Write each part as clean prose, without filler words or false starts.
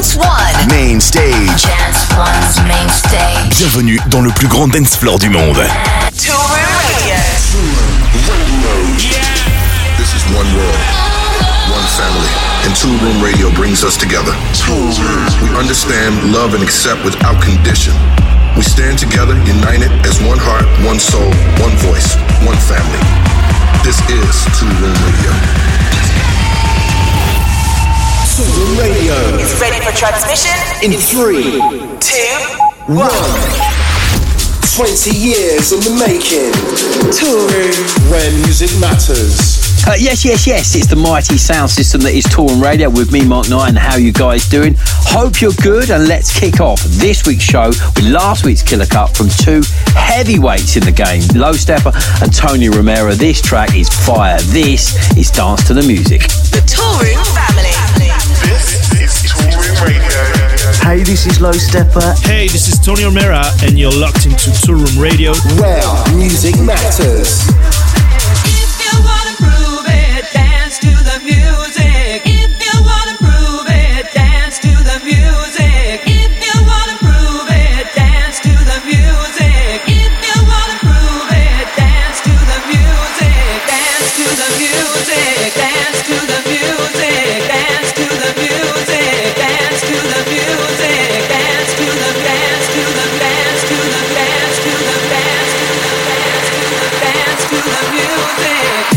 Dance One. Main stage. Dance One's main stage. Bienvenue dans le plus grand dance floor du monde. Toolroom Radio. This is one world, one family, and Toolroom Radio brings us together. We understand, love, and accept without condition. We stand together, united as one heart, one soul, one voice, one family. This is Toolroom Radio. Toolroom Radio is ready for transmission in 3, 2, 1. 20 years in the making. Toolroom, where music matters. Yes, it's the mighty sound system that is Toolroom Radio with me, Mark Knight, and how you guys doing? Hope you're good, and let's kick off this week's show with last week's killer cut from two heavyweights in the game, Low Steppa and Tony Romero. This track is fire. This is Dance to the Music. the Toolroom family. This is Toolroom Radio. Hey, this is Low Steppa. Hey, this is Tony Romero, and you're locked into Toolroom Radio, where music matters. If you wanna prove it, dance to the music. If you wanna prove it, dance to the music. If you wanna prove it, dance to the music. If you wanna prove it, dance to the music. Dance to the music. Dance to the music. Dance to the music. Dance to the music. Dance to the dance to the dance to the dance to the dance to the dance to the dance to the music.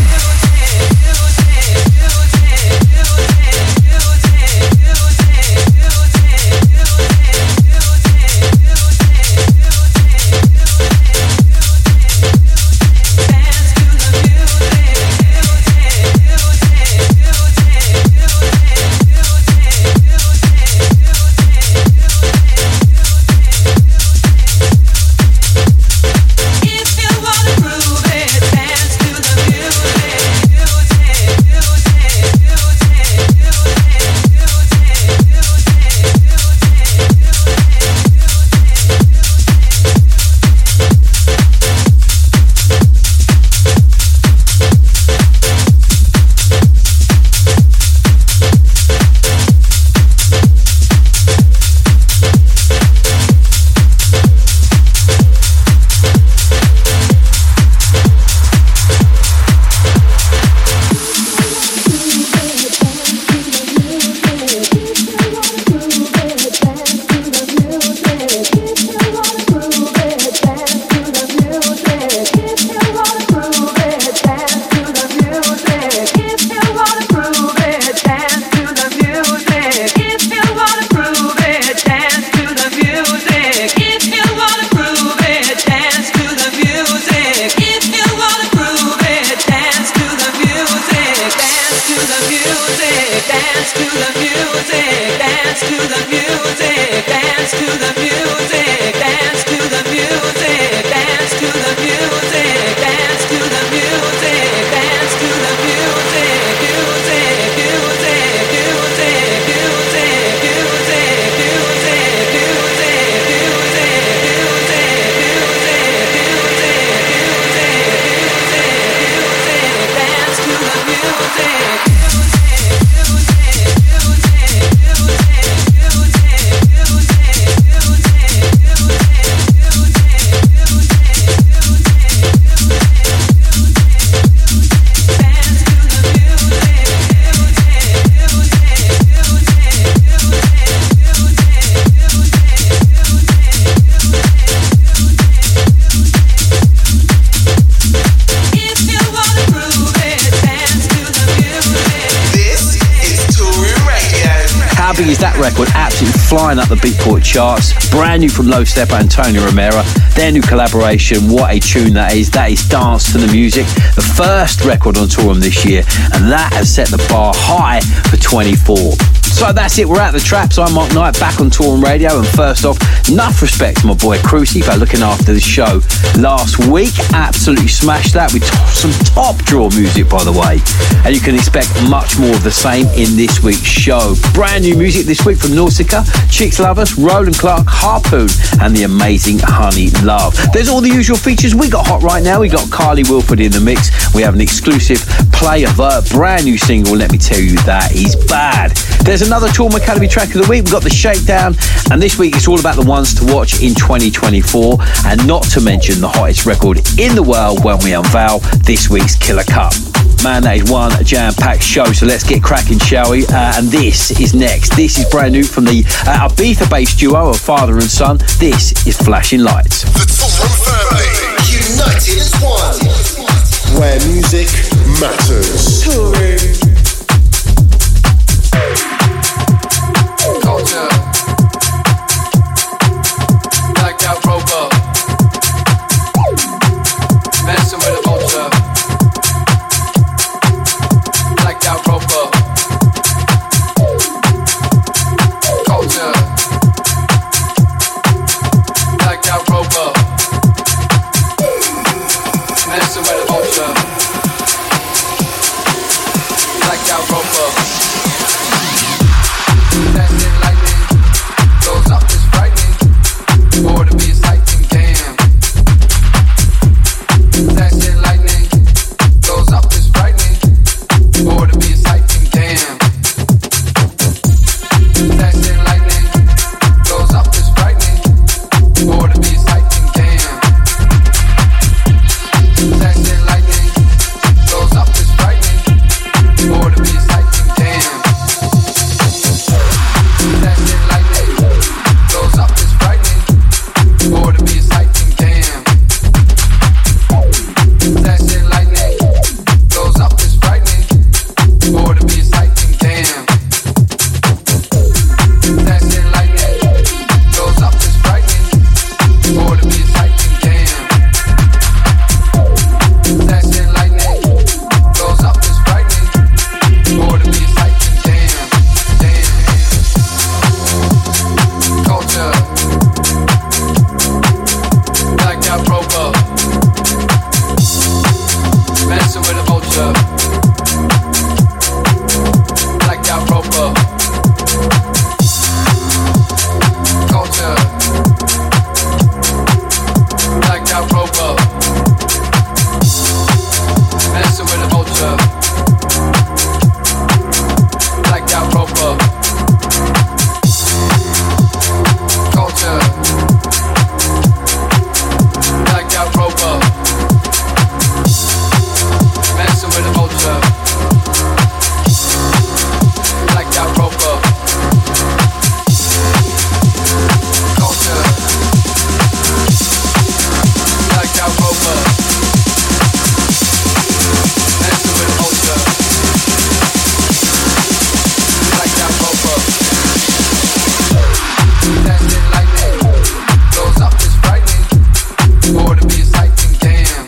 Flying up the Beatport charts, brand new from Low Steppa and Tony Romero. Their new collaboration, what a tune that is. That is Dance to the Music, the first record on Toolroom this year, and that has set the bar high for 24. So that's it, we're at the traps. I'm Mark Knight, back on Toolroom Radio, and first off, enough respect to my boy Cruci for looking after the show last week. Absolutely smashed that with some top draw music, by the way. And you can expect much more of the same in this week's show. Brand new music this week from Nausicaa, Chicks Lovers, Roland Clark, Harpoon, and the amazing Honey Love. There's all the usual features we got hot right now. We got Carly Wilford in the mix. We have an exclusive play of a brand new single. Let me tell you, that is bad. There's another Toolroom Academy track of the week. We've got the Shakedown, and this week it's all about the ones to watch in 2024, and not to mention the hottest record in the world when we unveil this week's Killer Cut. Man, that is one jam-packed show, so let's get cracking, shall we? And this is next. This is brand new from the Ibiza-based duo of father and son. This is Flashing Lights. The Toolroom family, united as one, where music matters. Toolroom. Culture. Blacked out roper. Messing with a vulture. Blacked out roper. Culture. Blacked out roper. Messing with a vulture. Blacked out roper. Flashing lightning goes up, it's frightening. Or to be a sighting, damn. Flashing lightning goes up, it's frightening. Or to be a sighting, damn. Flashing lightning goes up, it's frightening. Or to be a sighting, damn. Flashing lightning goes up, it's frightening. Or to be a sighting, damn. Flashing lightning goes up, it's frightening. Or to be a sighting, damn. Flashing lightning goes up, it's frightening. Or to be a sighting, damn. Flashing lightning goes up, it's frightening. Or to be a sighting, damn. Flashing lightning goes up, it's frightening. Or to be a sighting, damn. Damn. Culture. Blacked out roper. Messing with a vulture. Blacked out roper. Culture. Blacked out roper. Messing with a vulture. Blacked out roper. Culture. Blacked out roper. Messing with a vulture. Blacked out roper. Culture. Blacked out roper. Messing with a vulture. Blacked out roper. Flashing lightning goes up, it's frightening. Or to be a sighting, damn.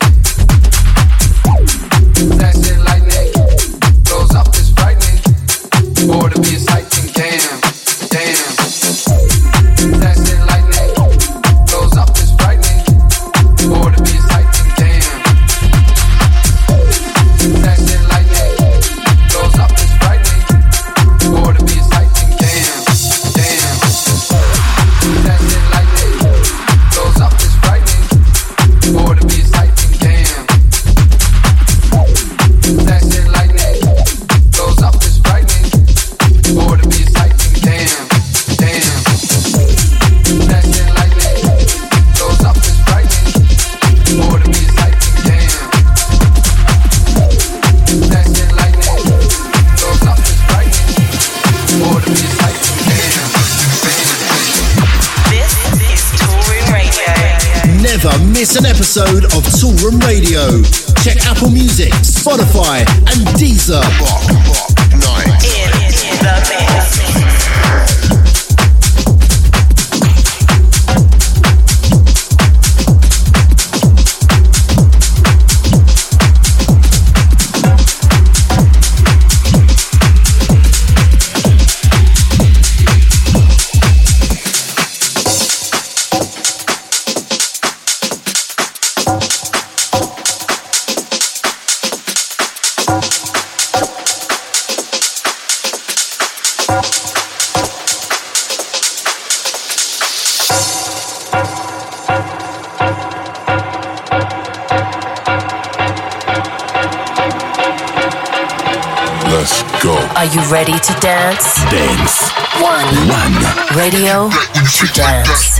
Flashing lightning goes up, it's frightening. Or to be a sighting, damn. Damn. Flashing lightning goes up, it's frightening. Or to be a sighting, damn. Flashing lightning goes up, it's frightening. Or to be a sighting, damn. Damn. Flashing lightning goes up, it's frightening. Or to be a sighting, damn. Flashing lightning goes up, it's frightening. Or to be a sighting, damn. Damn. Flashing lightning goes up, it's frightening. Or to be a sighting, damn. Flashing lightning goes up, it's frightening. Or to be a sighting, damn. This is Toolroom Radio. Never miss an episode of Toolroom Radio. Check Apple Music, Spotify, and Deezer. In the mix. Are you ready to dance? Dance. One. Radio to dance.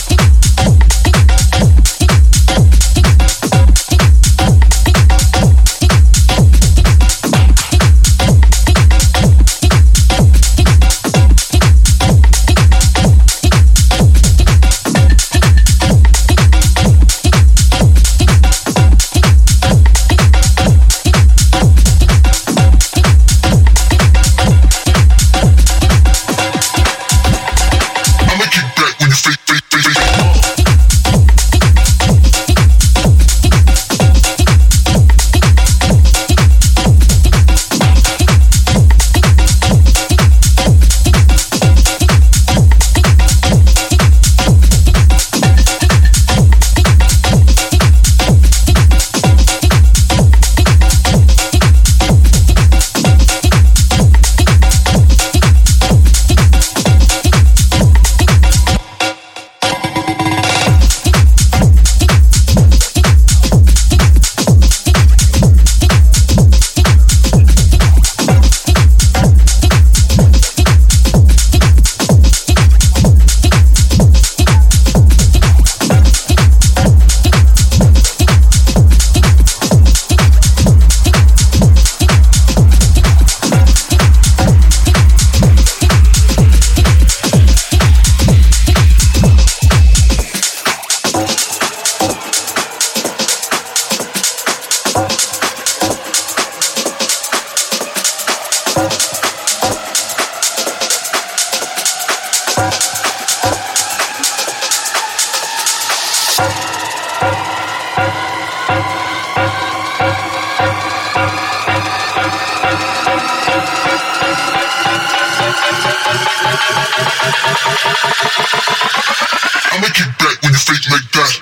I'ma get back when you fake like that.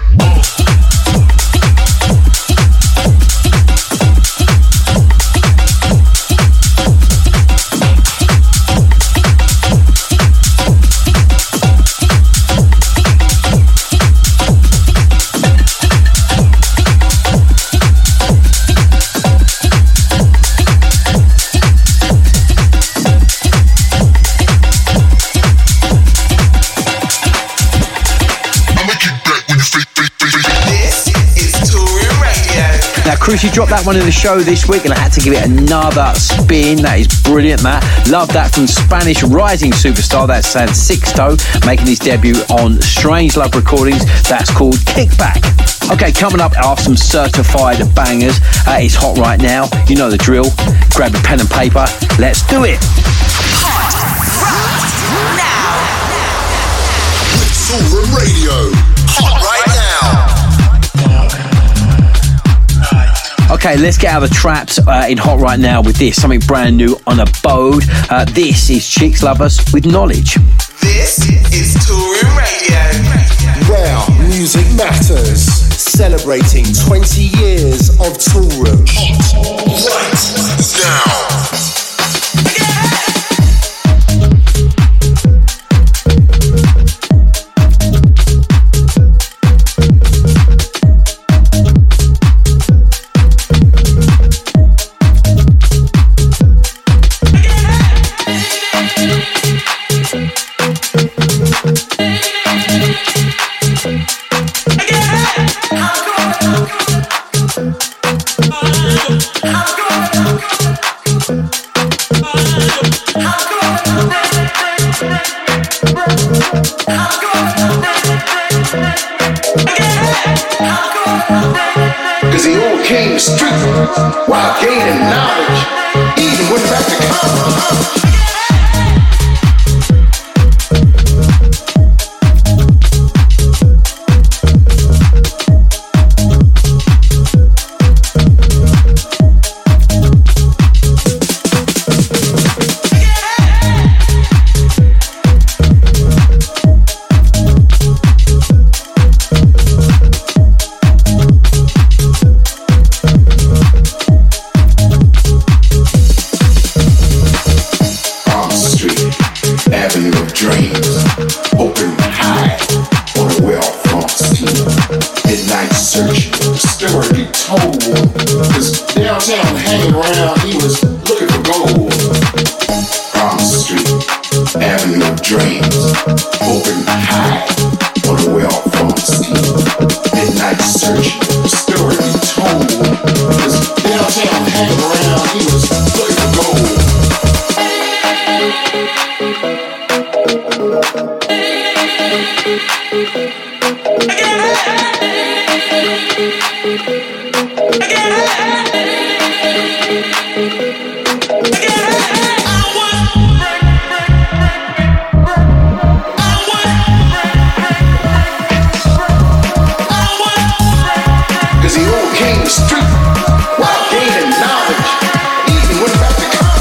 Crucey dropped that one in the show this week and I had to give it another spin. That is brilliant, Matt. Love that from Spanish rising superstar. That's San Sixto making his debut on Strange Love Recordings. That's called Kickback. Okay, coming up are some certified bangers. It's hot right now. You know the drill. Grab a pen and paper. Let's do it. Hot right now. Toolroom Radio. Hot right now. Okay, let's get out of the traps in Hot right now with this, something brand new on Abode. This is Chicks Love Us with Knowledge. This is Toolroom Radio. Where music matters. Celebrating 20 years of Toolroom. Right now. Cause he all came street while gaining knowledge. Even went back to college. Cause downtown hanging around, he was looking for gold. dreams, hoping high on a well-formed scheme. Midnight search, story told. This downtown hanging around, he was looking for gold. Cause he overcame the street while gaining knowledge, even when about to come.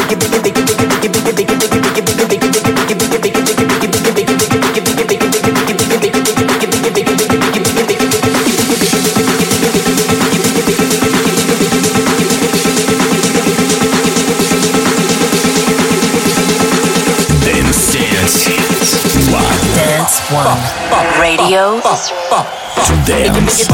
Radio to dance.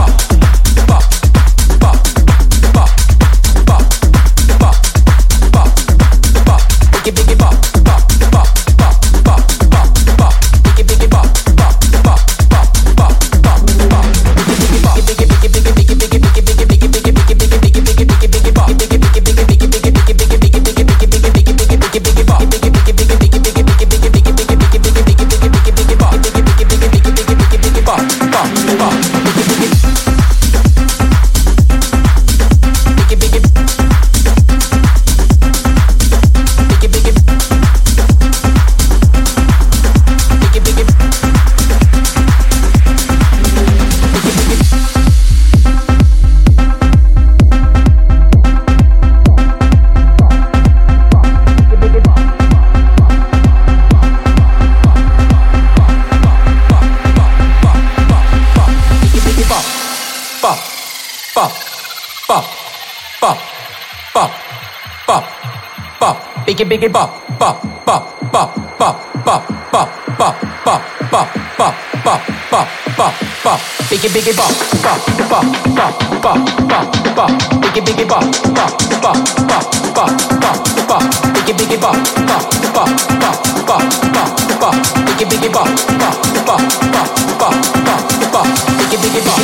Biggie bop bop bop bop bop bop bop bop bop bop bop bop bop bop bop biggie bop bop bop bop bop bop bop biggie bop bop bop bop bop bop bop biggie bop bop bop bop bop bop bop biggie bop bop bop bop bop bop bop biggie bop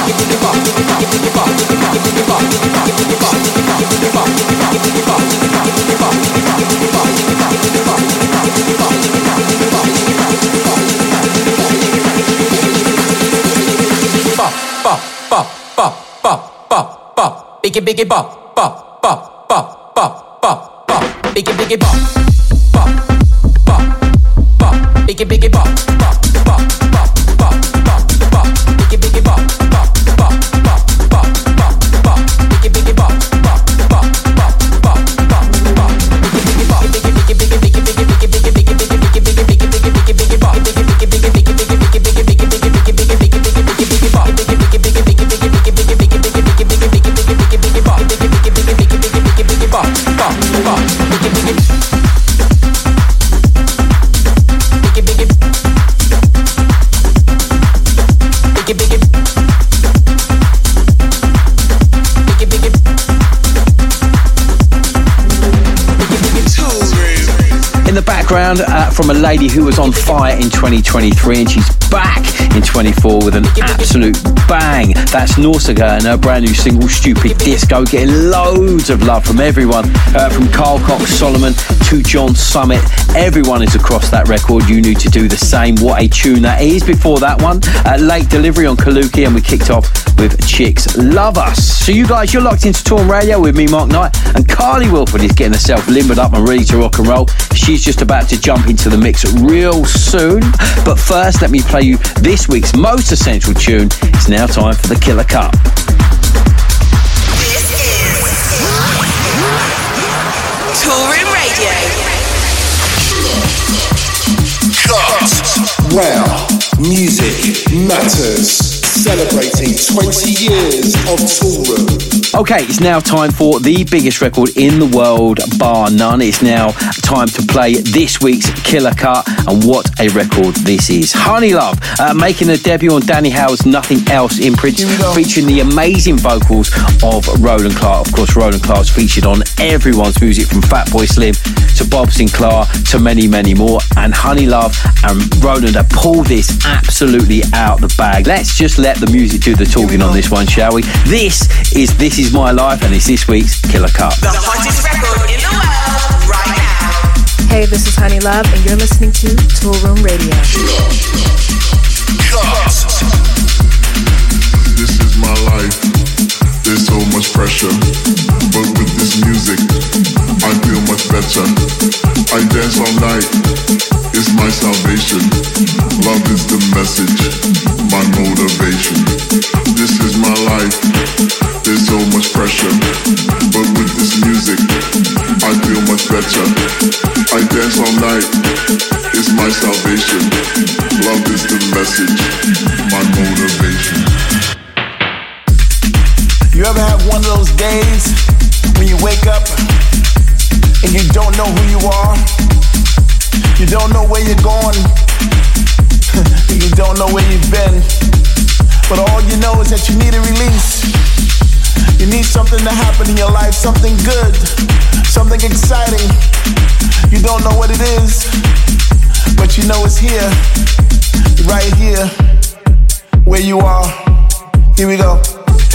biggie bop bop bop bop bop bop bop biggie bop bop bop bop biggie bop bop bop bop bop bop bop biggie bop bop bop bop bop bop bop biggie bop bop bop bop bop bop bop biggie bop background from a lady who was on fire in 2023 and she's back in 24 with an absolute bang. That's Nausicaa and her brand new single Stupid Disco, getting loads of love from everyone, from Carl Cox Solomon to John Summit. Everyone is across that record. You need to do the same. What a tune that is. Before that one, Late Delivery on Kaluki, and we kicked off with Chicks Love Us. So you guys, you're locked into Tourm Radio with me, Mark Knight, and Carly Wilford is getting herself limbered up and ready to rock and roll. She's just about to jump into the mix real soon. But first, let me play you this week's most essential tune. It's now time for the Killer Cut. This is Tourm Radio. Cut. Wow, music matters. Celebrating 20 years of Tourm. Okay, it's now time for the biggest record in the world, bar none. It's now time to play this week's Killer Cut, and what a record this is. Honey Love, making a debut on Danny Howell's Nothing Else imprint, featuring the amazing vocals of Roland Clark. Of course, Roland Clark's featured on everyone's music, from Fatboy Slim to Bob Sinclair to many, many more. And Honey Love and Roland have pulled this absolutely out the bag. Let's just let the music do the talking on this one, shall we? This is My Life, and it's this week's Killer Cut. The hottest record in the world right now. Hey, this is Honey Love, and you're listening to Tourm Radio. This is my life. There's so much pressure, but with this music, I feel much better. I dance all night. It's my salvation. Love is the message, my motivation. This is my life. There's so much pressure, but with this music, I feel much better. better. I dance all night, it's my salvation. Love is the message, my motivation. You ever have one of those days when you wake up and you don't know who you are? You don't know where you're going. You don't know where you've been. But all you know is that you need a release. You need something to happen in your life, something good, something exciting. You don't know what it is, but you know it's here, right here, where you are. Here we go.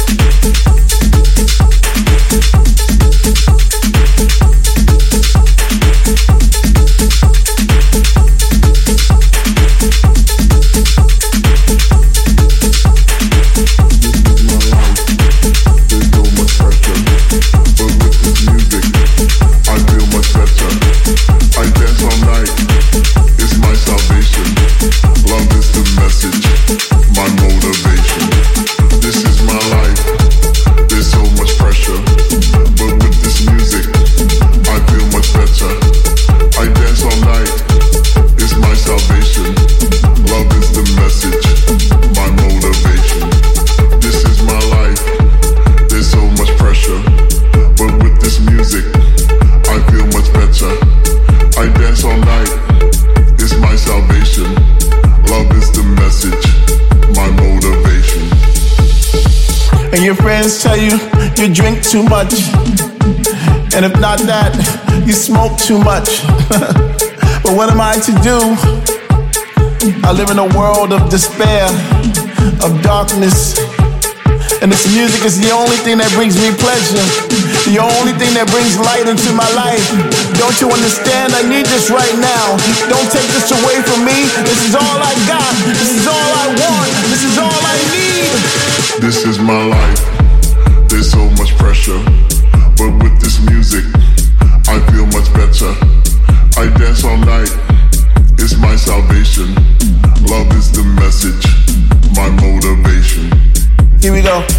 Tell you drink too much, and if not that, you smoke too much. But what am I to do? I live in a world of despair, of darkness, and this music is the only thing that brings me pleasure, the only thing that brings light into my life. Don't you understand? I need this right now. Don't take this away from me. This is all I got. This is all I want. This is all I need. This is my life. There's so much pressure, but with this music, I feel much better. I dance all night, it's my salvation. Love is the message, my motivation. Here we go.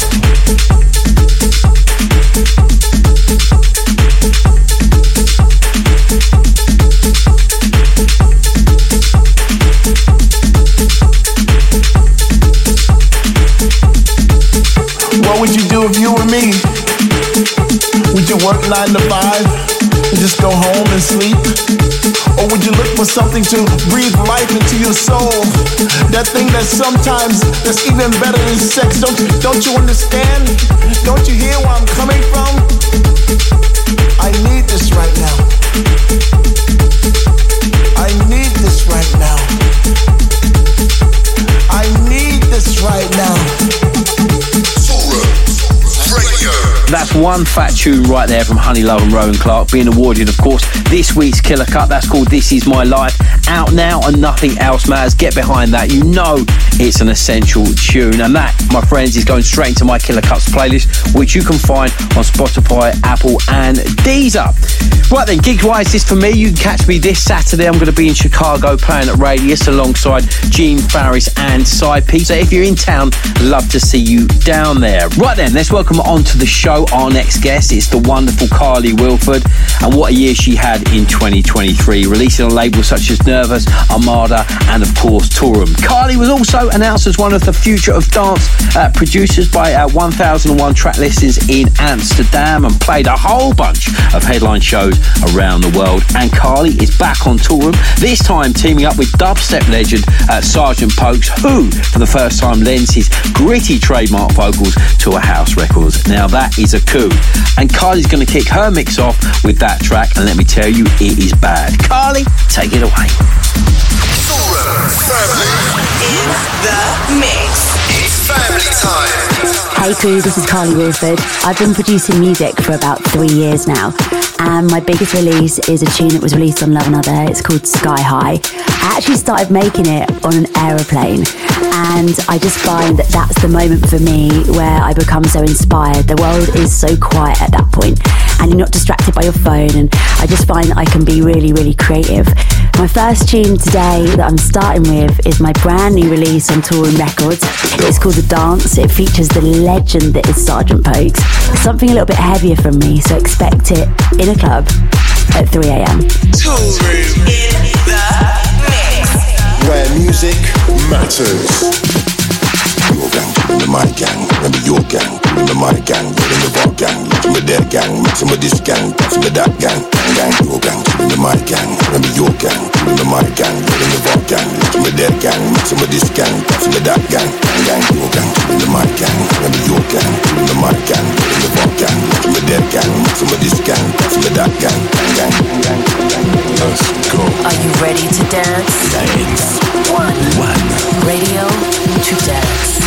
What would you do if you were me? Would you work 9 to 5 and just go home and sleep? Or would you look for something to breathe life into your soul? That thing that sometimes that's even better than sex. Don't you understand? Don't you hear where I'm coming from? I need this right now. I need this right now. I need this right now. That's one fat tune right there from Honey Love and Rowan Clark, being awarded, of course, this week's Killer Cut. That's called This Is My Life. Out now and nothing else matters. Get behind that. You know it's an essential tune. And that, my friends, is going straight into my Killer Cuts playlist, which you can find on Spotify, Apple and Deezer. Right then, gig-wise, this for me. You can catch me this Saturday. I'm going to be in Chicago playing at Radius alongside Gene Farris and Cy P. So if you're in town, love to see you down there. Right then, let's welcome on to the show our next guest. It's the wonderful Carly Wilford, and what a year she had in 2023, releasing on labels such as Nervous, Armada and of course Tourum. Carly was also announced as one of the Future of Dance producers by 1001 track listings in Amsterdam, and played a whole bunch of headline shows around the world. And Carly is back on Tourum, this time teaming up with dubstep legend Sergeant Pokes, who for the first time lends his gritty trademark vocals to a house record. Now that is a coup, and Carly's going to kick her mix off with that track, and let me tell you, it is bad. Carly, take it away. Family in the mix. It's family time. Hey crew, this is Carly Wilford. I've been producing music for about 3 years now, and my biggest release is a tune that was released on Love Another. It's called Sky High. I actually started making it on an aeroplane, and I just find that that's the moment for me where I become so inspired. The world is so quiet at that point, and you're not distracted by your phone, and I just find that I can be really, really creative. My first tune today that I'm starting with is my brand new release on Tourum Records. It's called The Dance. It features the legend that is Sergeant Pokes. It's something a little bit heavier from me, so expect it in a club. at 3 a.m. Tool Room in the mix. Where music matters. Your gang, the my gang, remember your gang, the my gang, the bar gang, my dead gang, maximum this gang, maximum that gang, gang, your gang, the my gang, remember your gang, the my gang, the bar gang, my dead gang, maximum this gang, maximum that gang, gang, your gang, the my gang, remember your gang, the my gang, the bar gang, my dead gang, maximum this gang, maximum that gang, gang, gang, gang. Let's go. Are you ready to dance? Dance. One. Radio to dance.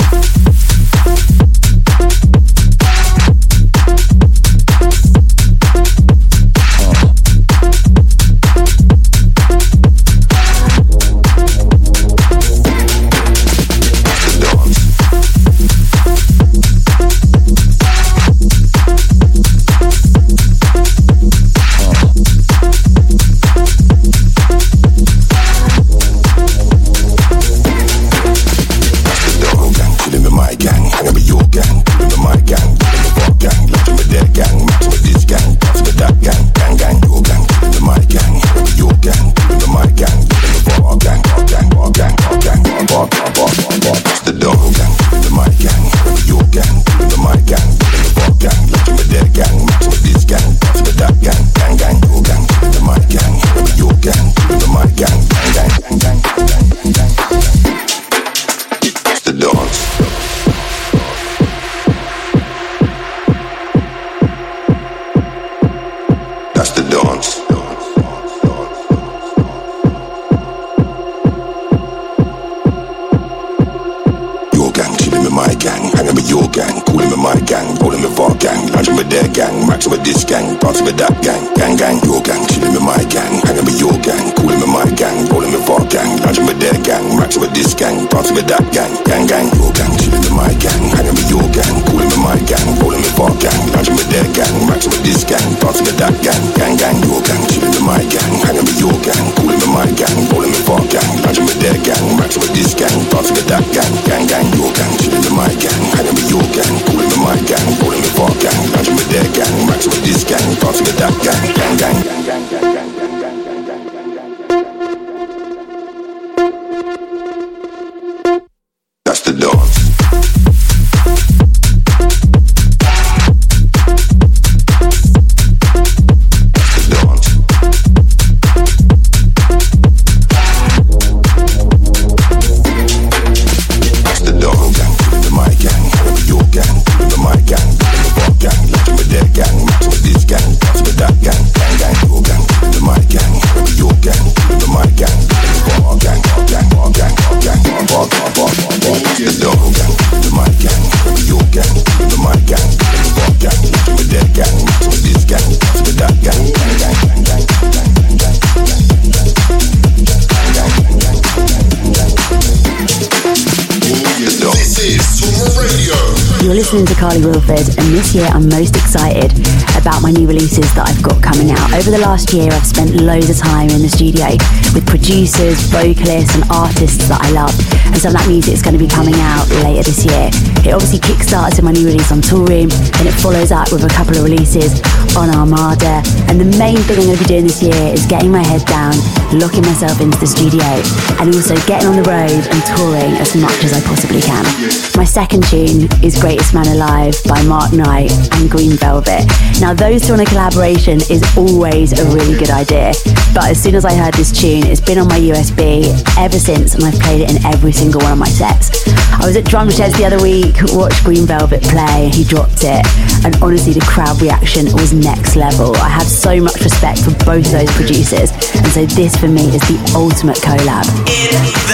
listening to Carly Wilford, and this year I'm most excited about my new releases that I've got coming out. Over the last year I've spent loads of time in the studio with producers, vocalists and artists that I love, and some of that music is going to be coming out later this year. It obviously kickstarts with my new release on Tool Room, and it follows up with a couple of releases on Armada, and the main thing I'm going to be doing this year is getting my head down, locking myself into the studio, and also getting on the road and touring as much as I possibly can. My second tune is Greatest Man Alive by Mark Knight and Green Velvet. Now those two on a collaboration is always a really good idea, but as soon as I heard this tune, it's been on my USB ever since, and I've played it in every single one of my sets. I was at Drum Sheds the other week, watched Green Velvet play, he dropped it, and honestly the crowd reaction was next level. I have so much respect for both those producers, and so this for me is the ultimate collab. In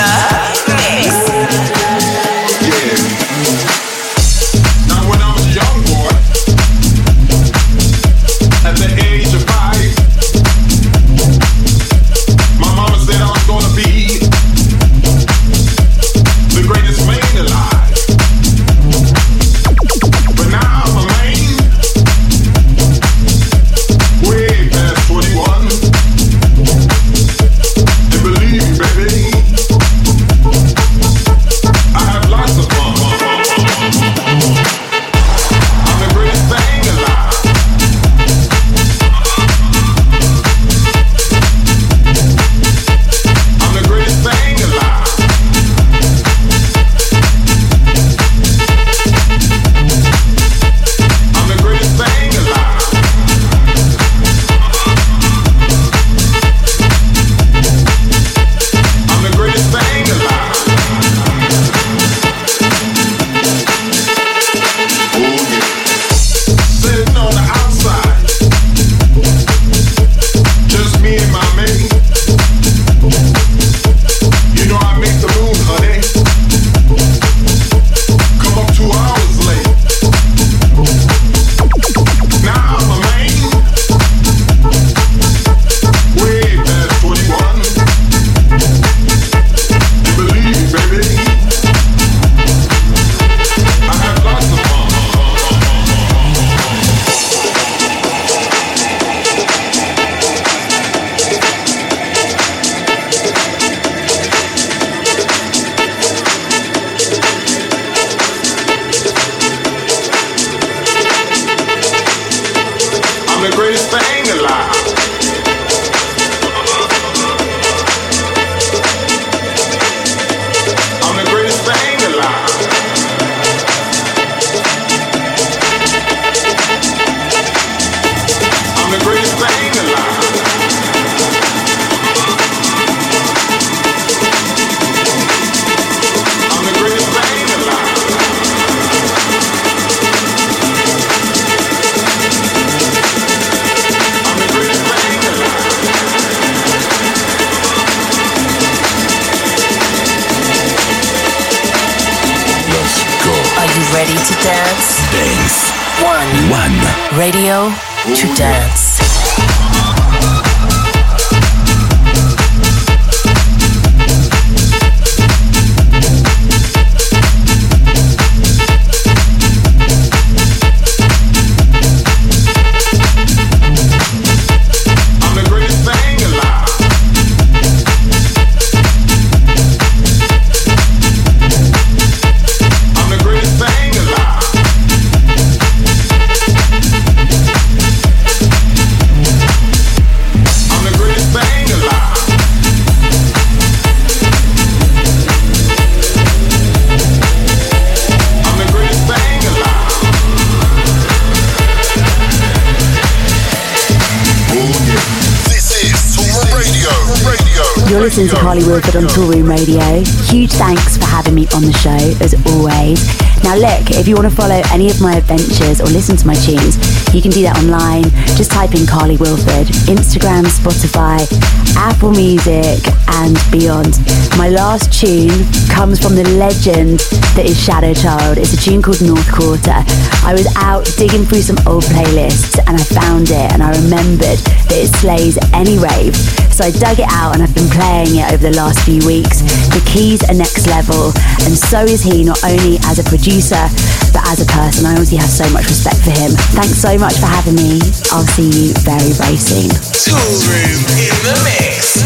the mix. Now when I was a young boy, at the age of 5, my mama said I was gonna be the greatest man alive. But now I'm a man, way past 21. And believe me, baby, dance. Dance. One. Radio to dance. You're listening to Carly Wilford on Toolroom Radio. Huge thanks for having me on the show, as always. Now look, if you want to follow any of my adventures or listen to my tunes, you can do that online. Just type in Carly Wilford, Instagram, Spotify, Apple Music, and beyond. My last tune comes from the legend that is Shadow Child. It's a tune called North Quarter. I was out digging through some old playlists and I found it and I remembered that it slays any rave. So I dug it out and I've been playing it over the last few weeks. The keys are next level, and so is he, not only as a producer, but as a person. I honestly have so much respect for him. Thanks so much for having me. I'll see you very, very soon. Toolroom in the mix.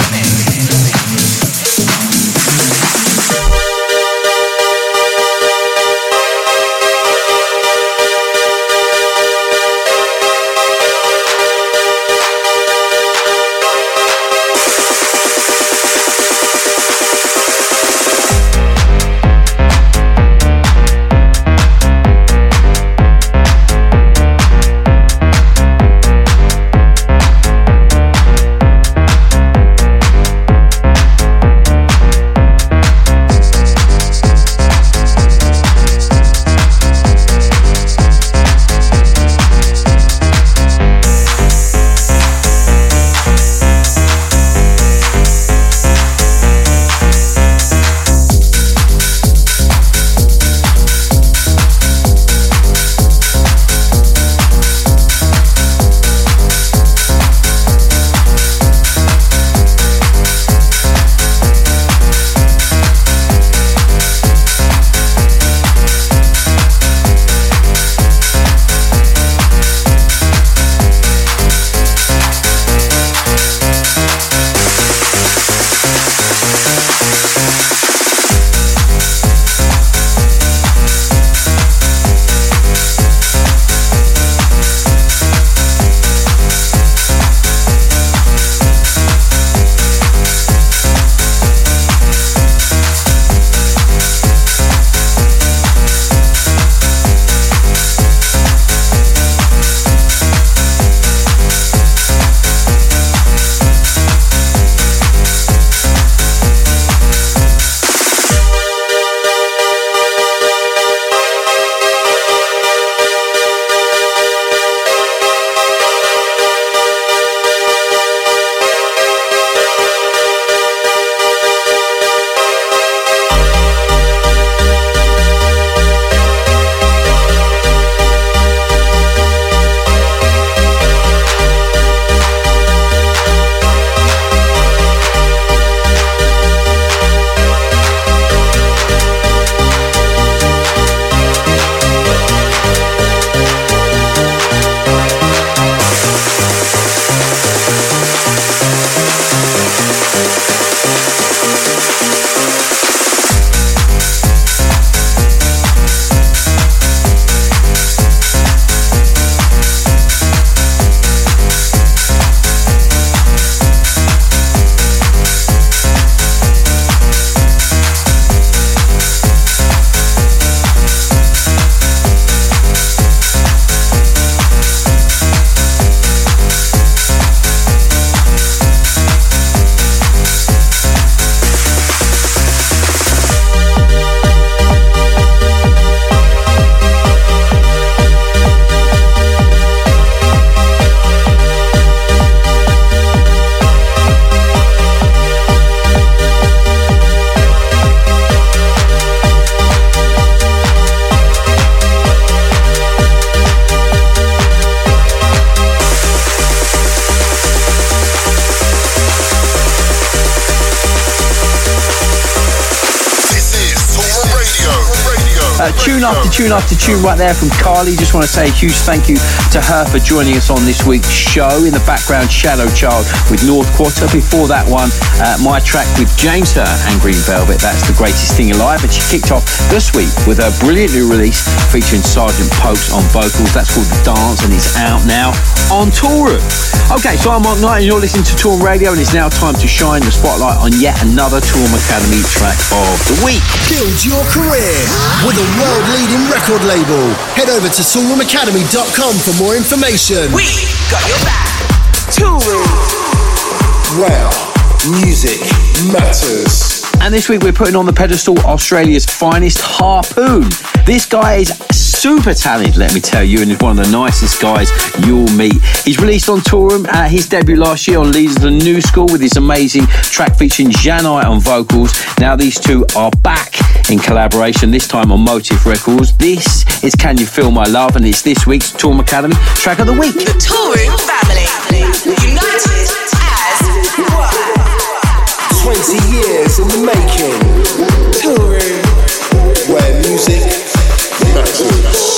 Tune after tune after tune right there from Carly. Just want to say a huge thank you to her for joining us on this week's show. In the background, Shadow Child with North Quarter. Before that one, my track with James Hurt and Green Velvet. That's The Greatest Thing Alive. And she kicked off this week with her brilliantly released featuring Sergeant Pokes on vocals. That's called The Dance and it's out now on Toolroom. Okay, so I'm Mark Knight and you're listening to Toolroom Radio, and it's now time to shine the spotlight on yet another Toolroom Academy track of the week. Build your career with a world-leading record label. Head over to toolroomacademy.com for more information. We got your back. Toolroom. Wow, music matters. And this week we're putting on the pedestal Australia's finest, Harpoon. This guy is super talented, let me tell you, and is one of the nicest guys you'll meet. He's released on Toolroom his debut last year on Leaders of the New School with his amazing track featuring Janai on vocals. Now these two are back in collaboration, this time on Motive Records. This is Can You Feel My Love, and it's this week's Toolroom Academy track of the week. The Toolroom family, united as one. 20 years in the making. Toolroom, where music matters.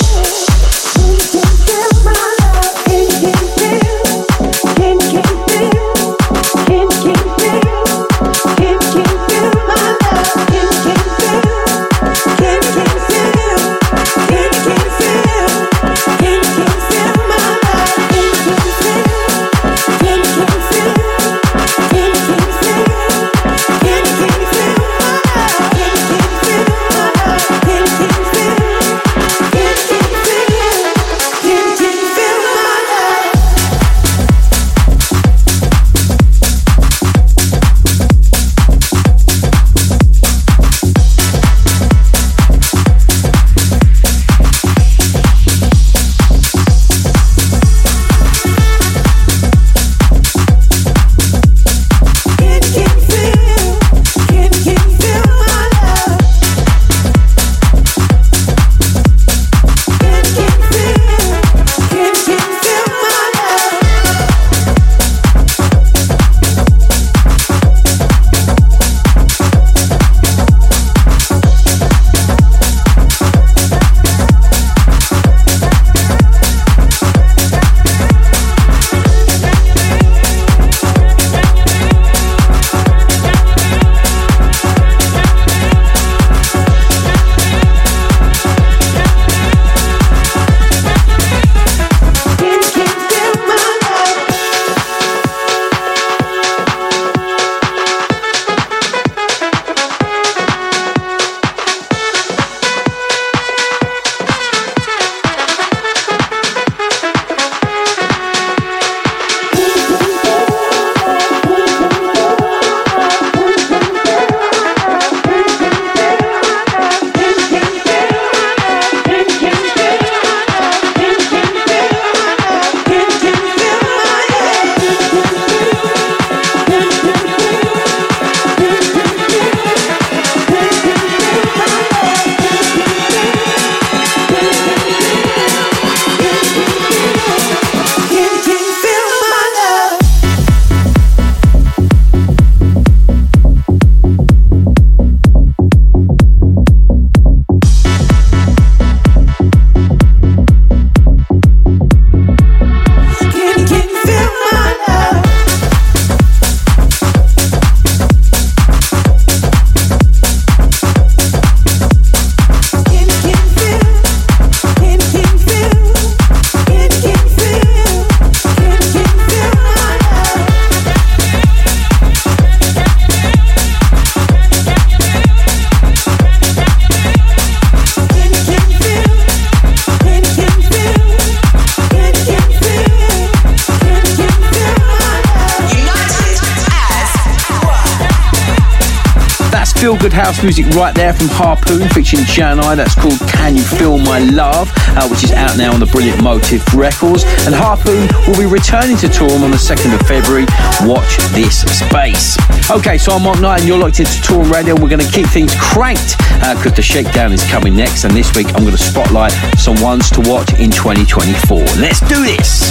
Feel-good house music right there from Harpoon featuring Janai. That's called Can You Feel My Love, which is out now on the brilliant Motive Records. And Harpoon will be returning to Toolroom on the 2nd of February. Watch this space. Okay, so I'm Mark Knight and you're locked into Toolroom Radio. We're going to keep things cranked because the Shakedown is coming next. And this week I'm going to spotlight some ones to watch in 2024. Let's do this.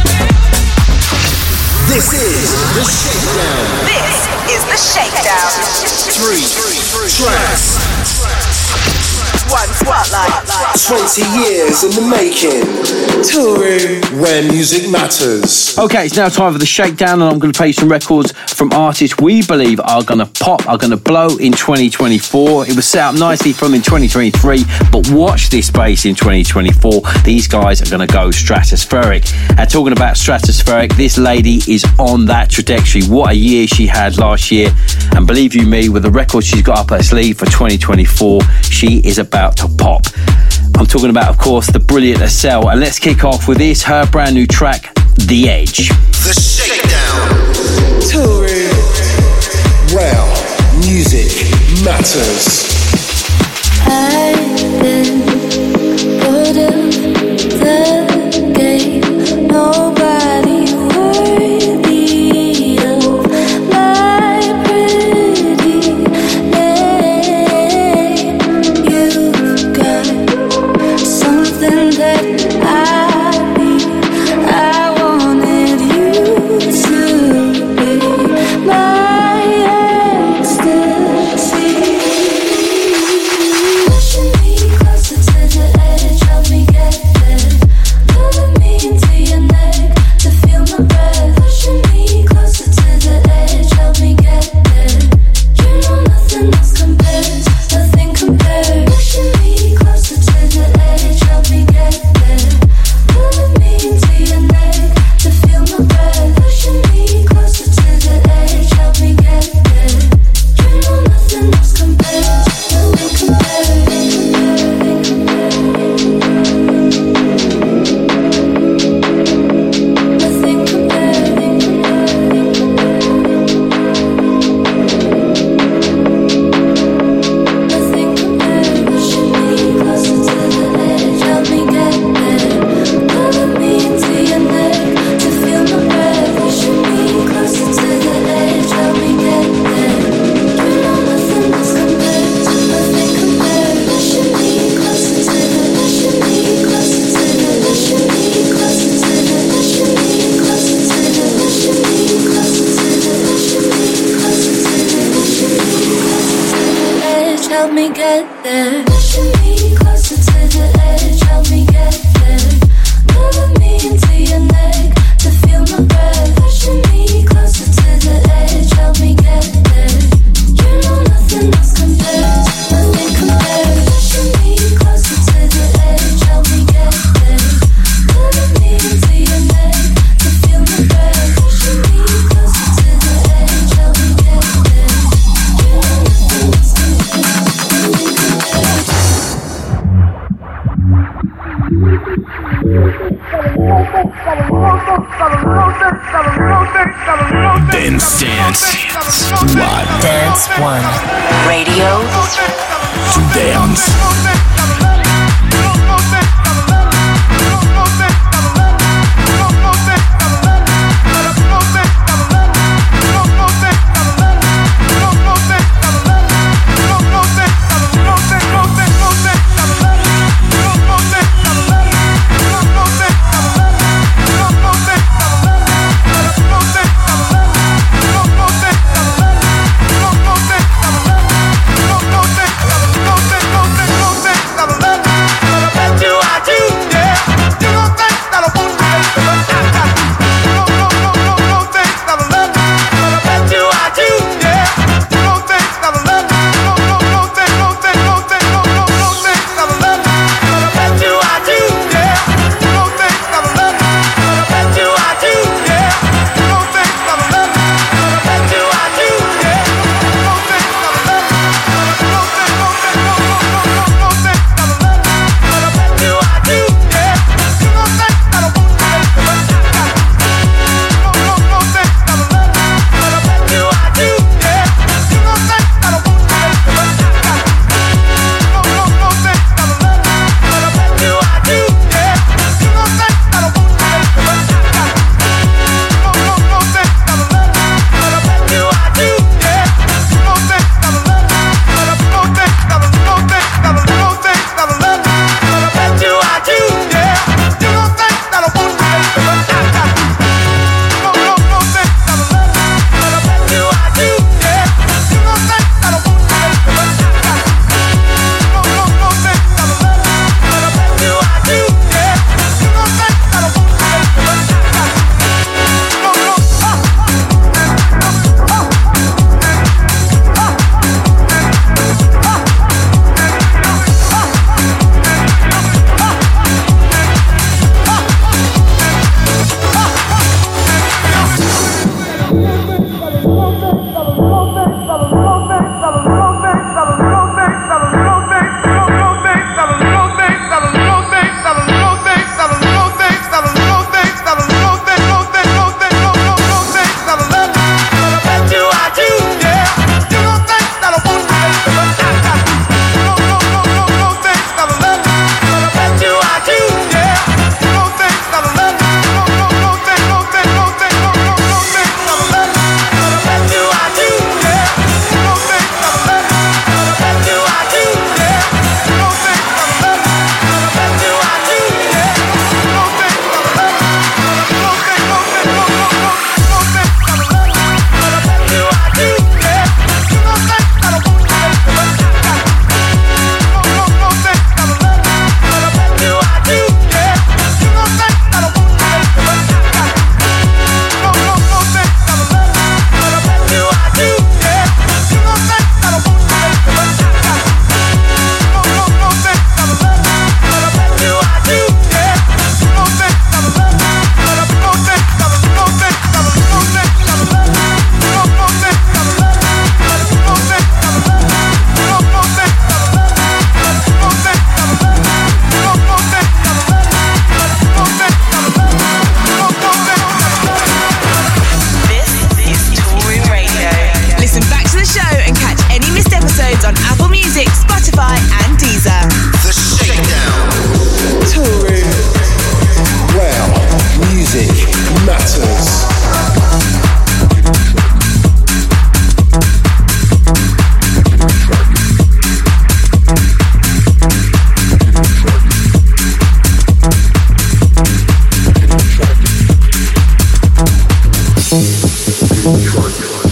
This is The Shakedown. This is The Shakedown. 3 tracks. One spotlight. 20 years in the making. Toolroom, where music matters. Okay, it's now time for the shakedown, and I'm going to play some records from artists we believe are going to pop, are going to blow in 2024. It was set up nicely from in 2023, but watch this space in 2024. These guys are going to go stratospheric. And talking about stratospheric, this lady is on that trajectory. What a year she had last year. And believe you me, with the record she's got up her sleeve for 2024, she is about to pop. I'm talking about, of course, the brilliant Estelle. And let's kick off with this, her brand new track, The Edge. The Shakedown. Toolroom. Well, music matters. I've been bored of the game. Nobody worthy of my pretty name. You've got something that I need. I wanted you to be my ecstasy. Pushing me closer to the edge, help me get there. Pulling me into your neck to feel my breath. Pushing me closer to the edge, help me get there. You know nothing else compares, nothing compares. Pushing me closer to the edge, help me get there. Pulling me into your neck to feel my breath. Pushing me closer to the edge, help me get there. You know nothing else compares, nothing compares. Nothing compares. Pushing me closer to the edge, help me get there. Pulling me into your neck to feel my breath. Pushing me closer to the edge, help me get there. You know nothing else compares, nothing compares. Pushing me closer to the, pushing me closer to the, pushing me closer to the, pushing me closer to the, pushing me closer to the, pushing me closer to the, pushing me closer to the edge, help me get there. Pushing me closer to the edge, help me get there. Pulling me into your neck to feel my breath. Pushing me closer to the edge, help me get there. You know nothing else compares, nothing compares. Pushing me closer to the edge, help me get there. Pulling me into your neck to feel my breath. Pushing me closer to the edge, help me get there. You know nothing else compares, nothing compares. Dance One. Radio To dance.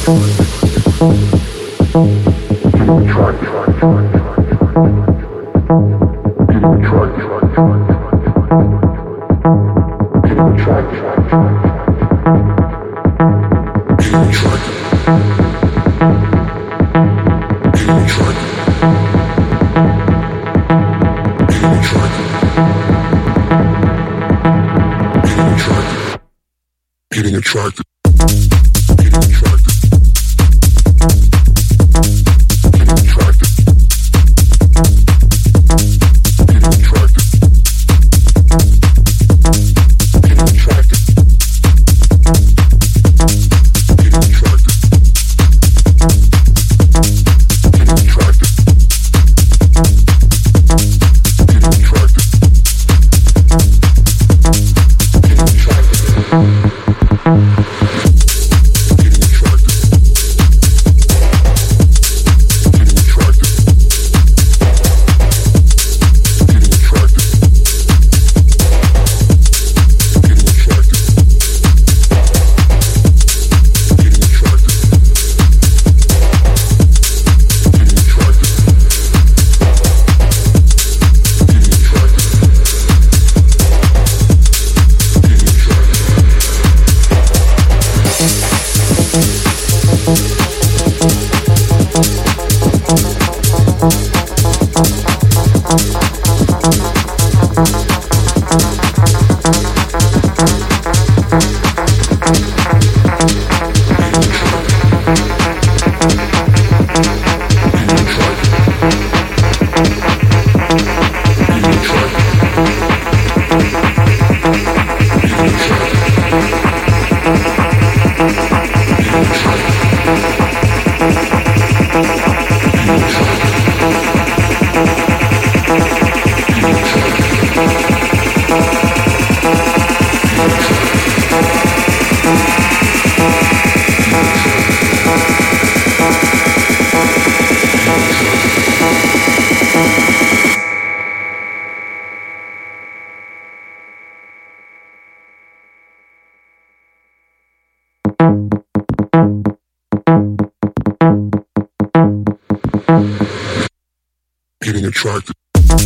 Getting attracted. Getting attracted.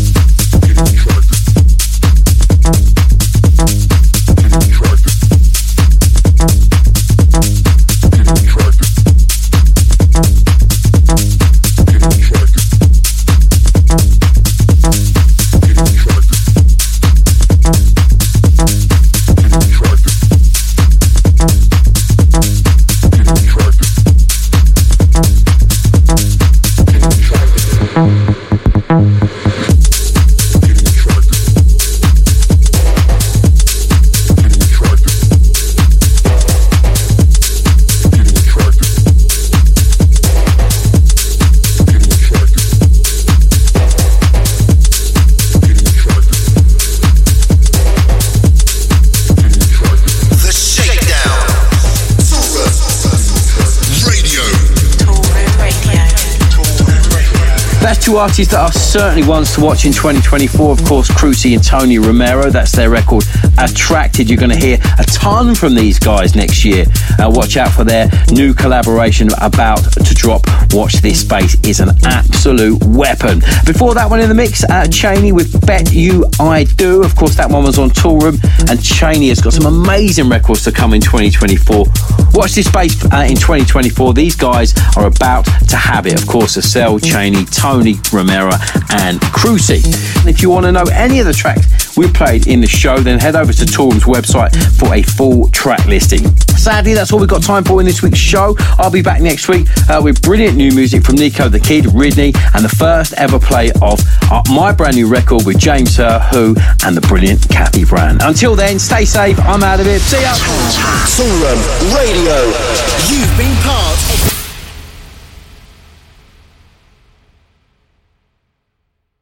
Two artists that are certainly ones to watch in 2024, of course, Cruci and Tony Romero. That's their record Attracted. You're going to hear a ton from these guys next year. Watch out for their new collaboration about to drop. Watch This Space is an absolute weapon. Before that one in the mix, Cheney with Bet You I Do. Of course, that one was on Toolroom, and Cheney has got some amazing records to come in 2024. Watch This Space in 2024. These guys are about to have it. Of course, Acel, Cheney, Tony Romero and Cruci. And if you want to know any of the tracks we played in the show, then head over to Toolroom's website for a full track listing. Sadly, that's all we've got time for in this week's show. I'll be back next week with brilliant new music from Nico the Kid, Ridney, and the first ever play of my brand new record with James Hur, Who, and the brilliant Kathy Brand. Until then, stay safe. I'm out of here. See ya. Toolroom Radio. You've been part of